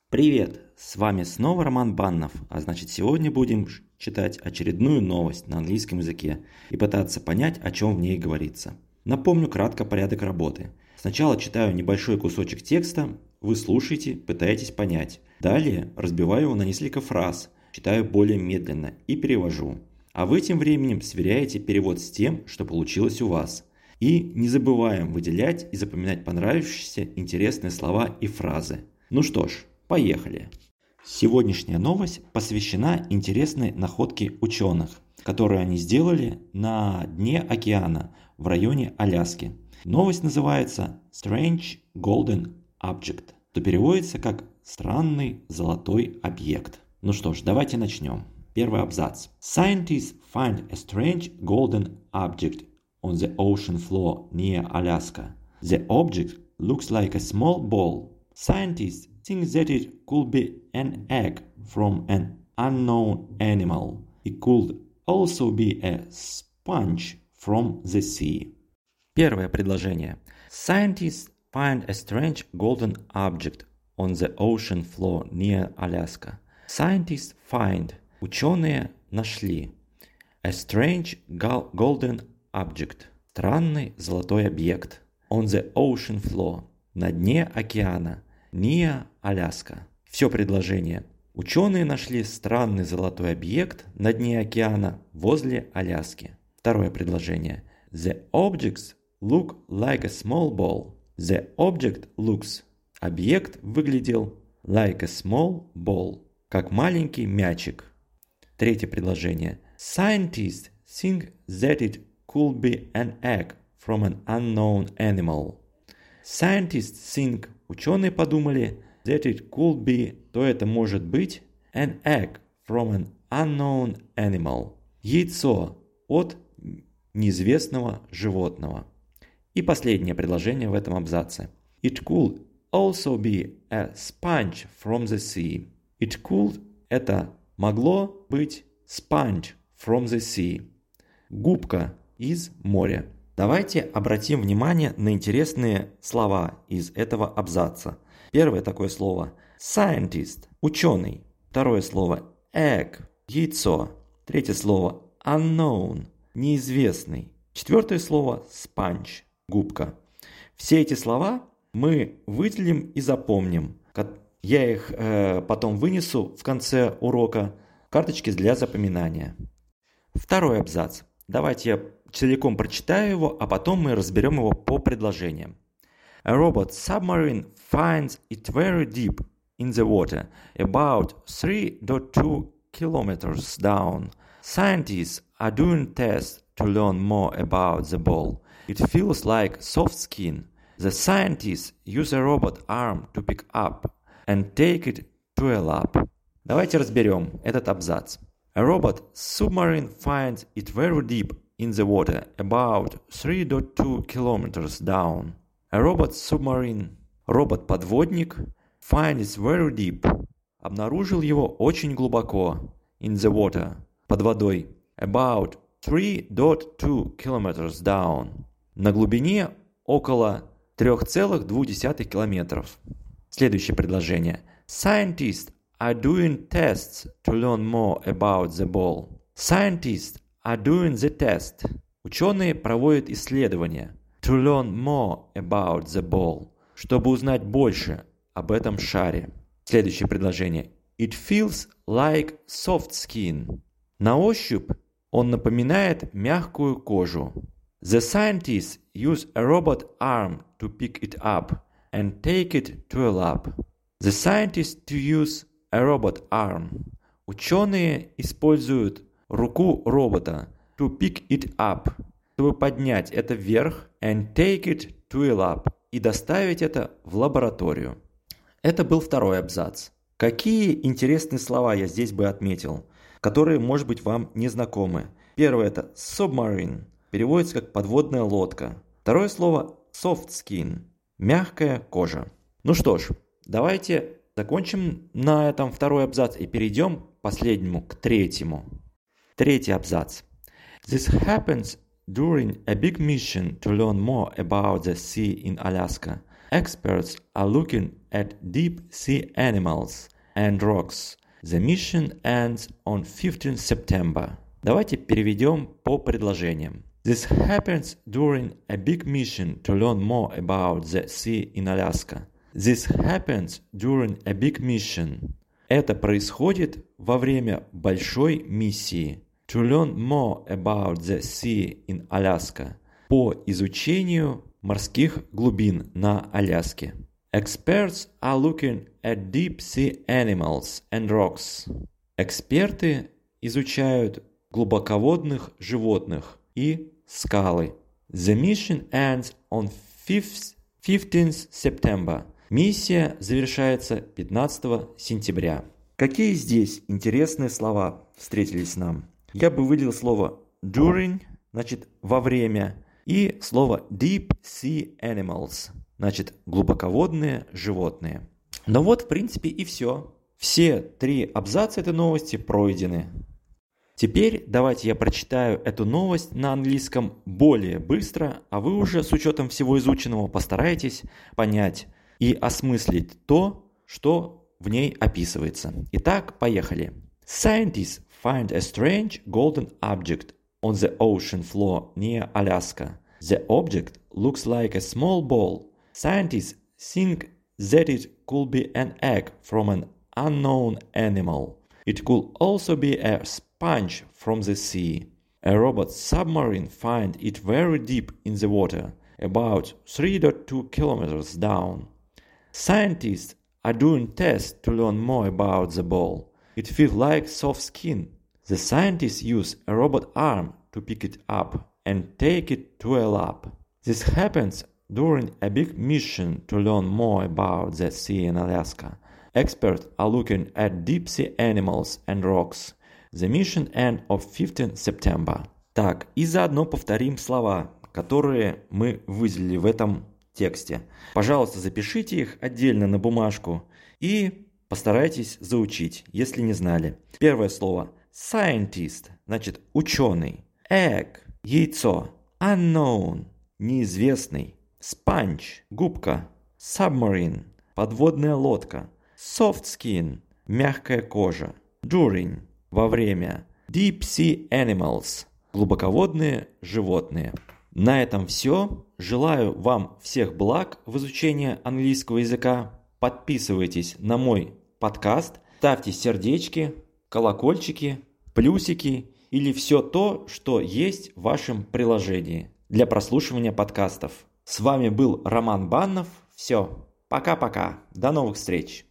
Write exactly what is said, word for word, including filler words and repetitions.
Привет! С вами снова Роман Баннов, а значит сегодня будем читать очередную новость на английском языке и пытаться понять, о чем в ней говорится. Напомню кратко порядок работы. Сначала читаю небольшой кусочек текста, вы слушаете, пытаетесь понять. Далее разбиваю его на несколько фраз, читаю более медленно и перевожу. А вы тем временем сверяете перевод с тем, что получилось у вас. И не забываем выделять и запоминать понравившиеся интересные слова и фразы. Ну что ж, поехали! Сегодняшняя новость посвящена интересной находке ученых, которую они сделали на дне океана в районе Аляски. Новость называется Strange Golden Object, что переводится как «странный золотой объект». Ну что ж, давайте начнем. Первый абзац. Scientists find a strange golden object on the ocean floor near Alaska. The object looks like a small ball. Scientists think that it could be an egg from an unknown animal. It could also be a sponge from the sea. Первое предложение. Scientists find a strange golden object on the ocean floor near Alaska. Scientists find. Ученые нашли. A strange golden object. Странный золотой объект. On the ocean floor. На дне океана. Near Alaska. Все предложение. Ученые нашли странный золотой объект на дне океана возле Аляски. Второе предложение. The objects look like a small ball. The object looks. Объект выглядел like a small ball. Как маленький мячик. Третье предложение. Scientists think that it could be an egg from an unknown animal. Scientists think, ученые подумали, that it could be, то это может быть, an egg from an unknown animal. Яйцо от неизвестного животного. И последнее предложение в этом абзаце. It could also be a sponge from the sea. It could – это могло быть sponge from the sea. Губка из моря. Давайте обратим внимание на интересные слова из этого абзаца. Первое такое слово scientist – ученый. Второе слово egg – яйцо. Третье слово unknown – неизвестный. Четвертое слово sponge – губка. Все эти слова мы выделим и запомним. Я их э, потом вынесу в конце урока в карточки для запоминания. Второй абзац. Давайте я целиком прочитаю его, а потом мы разберем его по предложениям. A robot submarine finds it very deep in the water, about three point two kilometers down. Scientists are doing tests to learn more about the ball. It feels like soft skin. The scientists use a robot arm to pick up and take it to a lab. Давайте разберем этот абзац. A robot submarine finds it very deep in the water, about three point two kilometers down. A robot submarine, робот-подводник, finds it very deep, обнаружил его очень глубоко, in the water, под водой, about three point two kilometers down, на глубине около три целых две десятых километров. Следующее предложение. Scientists are doing tests to learn more about the ball. Scientists are doing the test. Ученые проводят исследования. To learn more about the ball. Чтобы узнать больше об этом шаре. Следующее предложение. It feels like soft skin. На ощупь он напоминает мягкую кожу. The scientists use a robot arm to pick it up and take it to a lab. The scientists use a robot arm. Ученые используют руку робота to pick it up, чтобы поднять это вверх and take it to a lab и доставить это в лабораторию. Это был второй абзац. Какие интересные слова я здесь бы отметил, которые, может быть, вам не знакомы. Первое это submarine, переводится как подводная лодка. Второе слово soft skin, мягкая кожа. Ну что ж, давайте закончим на этом второй абзац и перейдем к последнему, к третьему. Третий абзац. This happens during a big mission to learn more about the sea in Alaska. Experts are looking at deep sea animals and rocks. The mission ends on fifteenth September. Давайте переведем по предложениям. This happens during a big mission to learn more about the sea in Alaska. This happens during a big mission. Это происходит во время большой миссии. To learn more about the sea in Alaska. По изучению морских глубин на Аляске. Experts are looking at deep sea animals and rocks. Эксперты изучают глубоководных животных и скалы. The mission ends on fifteenth September. Миссия завершается пятнадцатого сентября. Какие здесь интересные слова встретились нам? Я бы выделил слово during, значит во время, и слово deep sea animals, значит глубоководные животные. Ну вот, в принципе, и все. Все три абзаца этой новости пройдены. Теперь давайте я прочитаю эту новость на английском более быстро, а вы уже с учетом всего изученного постарайтесь понять и осмыслить то, что в ней описывается. Итак, поехали. Scientists find a strange golden object on the ocean floor near Alaska. The object looks like a small ball. Scientists think that it could be an egg from an unknown animal. It could also be a sponge from the sea. A robot submarine finds it very deep in the water, about three point two kilometers down. Scientists are doing tests to learn more about the ball. It feels like soft skin. The scientists use a robot arm to pick it up and take it to a lab. This happens during a big mission to learn more about the sea in Alaska. Experts are looking at deep sea animals and rocks. The mission ends on fifteenth September. Так, и заодно повторим слова, которые мы выделили в этом тексте. Пожалуйста, запишите их отдельно на бумажку и постарайтесь заучить, если не знали. Первое слово scientist, значит ученый. Egg, яйцо. Unknown, неизвестный. Sponge, губка. Submarine, подводная лодка. Soft skin, мягкая кожа. During, во время. Deep sea animals, глубоководные животные. На этом все. Желаю вам всех благ в изучении английского языка. Подписывайтесь на мой подкаст, ставьте сердечки, колокольчики, плюсики или все то, что есть в вашем приложении для прослушивания подкастов. С вами был Роман Баннов. Все, пока-пока. До новых встреч.